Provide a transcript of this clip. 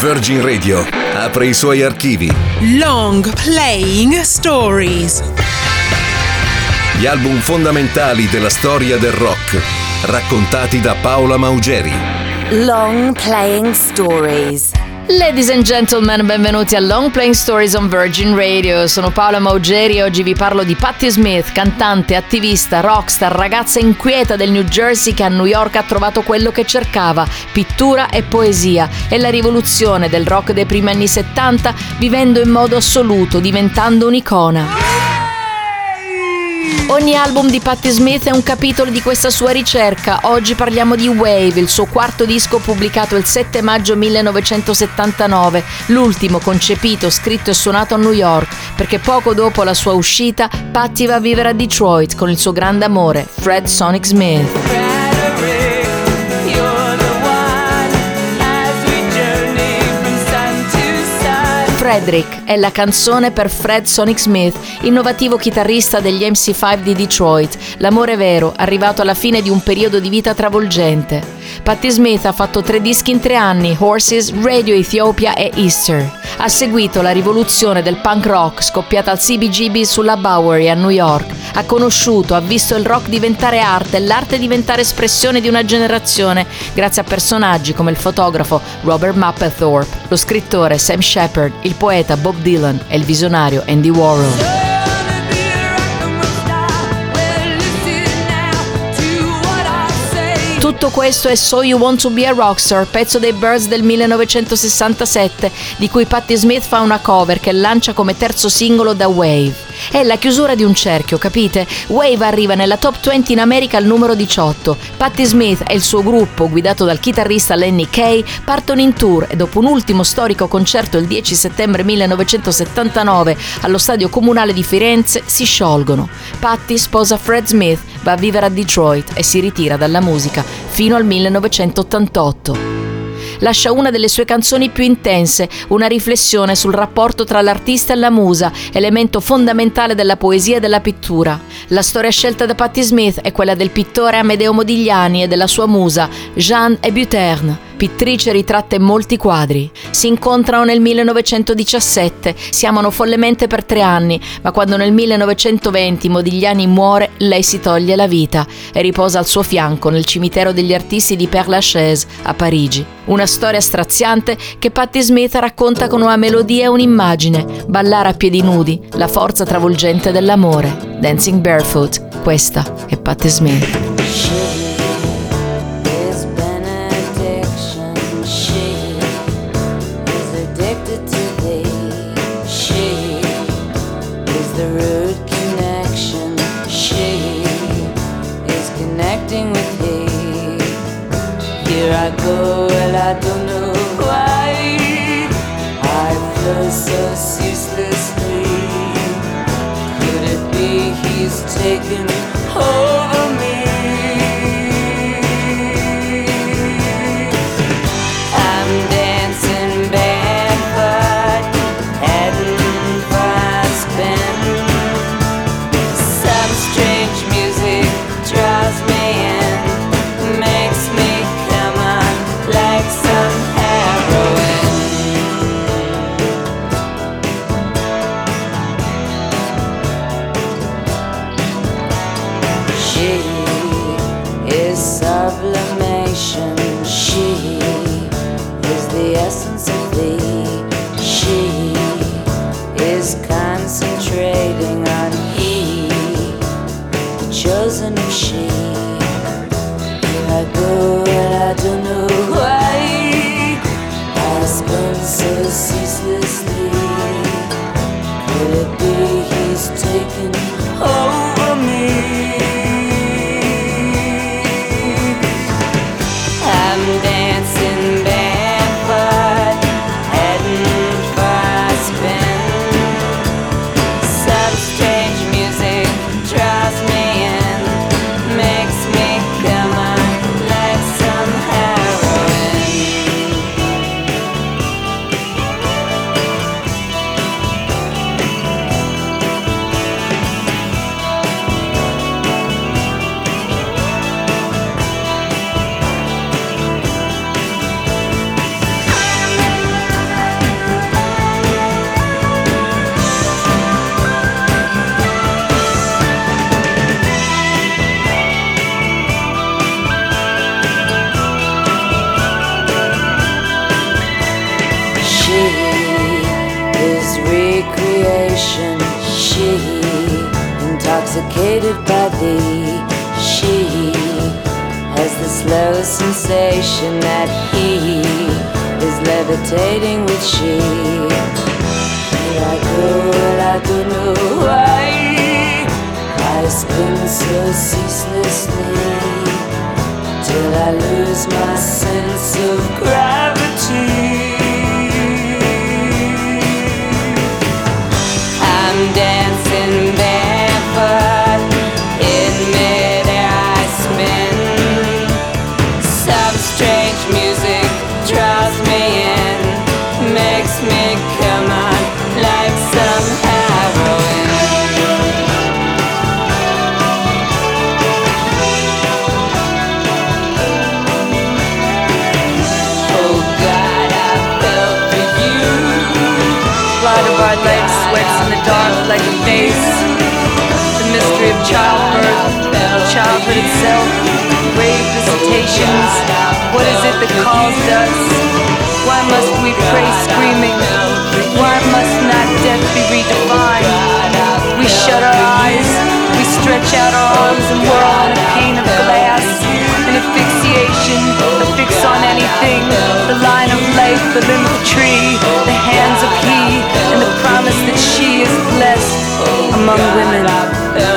Virgin Radio apre i suoi archivi. Long Playing Stories. Gli album fondamentali della storia del rock, raccontati da Paola Maugeri. Long Playing Stories. Ladies and gentlemen, benvenuti a Long Playing Stories on Virgin Radio. Sono Paola Maugeri e oggi vi parlo di Patti Smith, cantante, attivista, rockstar, ragazza inquieta del New Jersey che a New York ha trovato quello che cercava, pittura e poesia, e la rivoluzione del rock dei primi anni 70, vivendo in modo assoluto, diventando un'icona. Ogni album di Patti Smith è un capitolo di questa sua ricerca. Oggi parliamo di Wave, il suo quarto disco pubblicato il 7 maggio 1979, l'ultimo concepito, scritto e suonato a New York, perché poco dopo la sua uscita Patti va a vivere a Detroit con il suo grande amore, Fred Sonic Smith. Frederick è la canzone per Fred Sonic Smith, innovativo chitarrista degli MC5 di Detroit, l'amore vero, arrivato alla fine di un periodo di vita travolgente. Patti Smith ha fatto 3 dischi in 3 anni, Horses, Radio Ethiopia e Easter. Ha seguito la rivoluzione del punk rock scoppiata al CBGB sulla Bowery a New York. Ha conosciuto, ha visto il rock diventare arte e l'arte diventare espressione di una generazione, grazie a personaggi come il fotografo Robert Mapplethorpe, lo scrittore Sam Shepard, il poeta Bob Dylan e il visionario Andy Warhol. Tutto questo è So You Want to Be a Rockstar, pezzo dei Byrds del 1967, di cui Patti Smith fa una cover che lancia come terzo singolo da Wave. È la chiusura di un cerchio, capite? Wave arriva nella top 20 in America al numero 18. Patti Smith e il suo gruppo, guidato dal chitarrista Lenny Kaye, partono in tour e dopo un ultimo storico concerto il 10 settembre 1979 allo Stadio Comunale di Firenze si sciolgono. Patti sposa Fred Smith, va a vivere a Detroit e si ritira dalla musica fino al 1988. Lascia una delle sue canzoni più intense, una riflessione sul rapporto tra l'artista e la musa, elemento fondamentale della poesia e della pittura. La storia scelta da Patti Smith è quella del pittore Amedeo Modigliani e della sua musa, Jeanne Hébuterne, pittrice ritratta in molti quadri. Si incontrano nel 1917, si amano follemente per 3 anni, ma quando nel 1920 Modigliani muore, lei si toglie la vita e riposa al suo fianco nel cimitero degli artisti di Père Lachaise a Parigi. Una storia straziante che Patti Smith racconta con una melodia e un'immagine, ballare a piedi nudi, la forza travolgente dell'amore. Dancing Barefoot, questa è Patti Smith. Here I go and I don't know why I flow so ceaselessly. Could it be he's taken over me? I'm dancing barefoot, heading for a spin. Some strange music draws me in, makes me like some heroin. She is sublimation. She is the essence of thee. She is concentrating on he, the chosen of she. Here I go and I don't know why I spend so ceaselessly. Could it be he's taken over me? I'm dancing barefoot, recreation. She, intoxicated by thee. She has the slow sensation that he is levitating with she. Here I go and I don't know why I spin so ceaselessly till I lose my sense of gravity. I'm dancing barefoot in midair I spin. Some strange music draws me in, makes me come on like some heroin. Oh God, I fell for you. Light of our legs sweats in the dark like a face. The mystery of childbirth, childhood itself, grave visitations. What is it that calls us? Why must we pray screaming? Why must not death be redefined? We shut our eyes, we stretch out our arms and whirl on a pane of glass. An asphyxiation, a fix on anything. The line of life, the limb of tree, the hands of he, and the promise that she is blessed among women.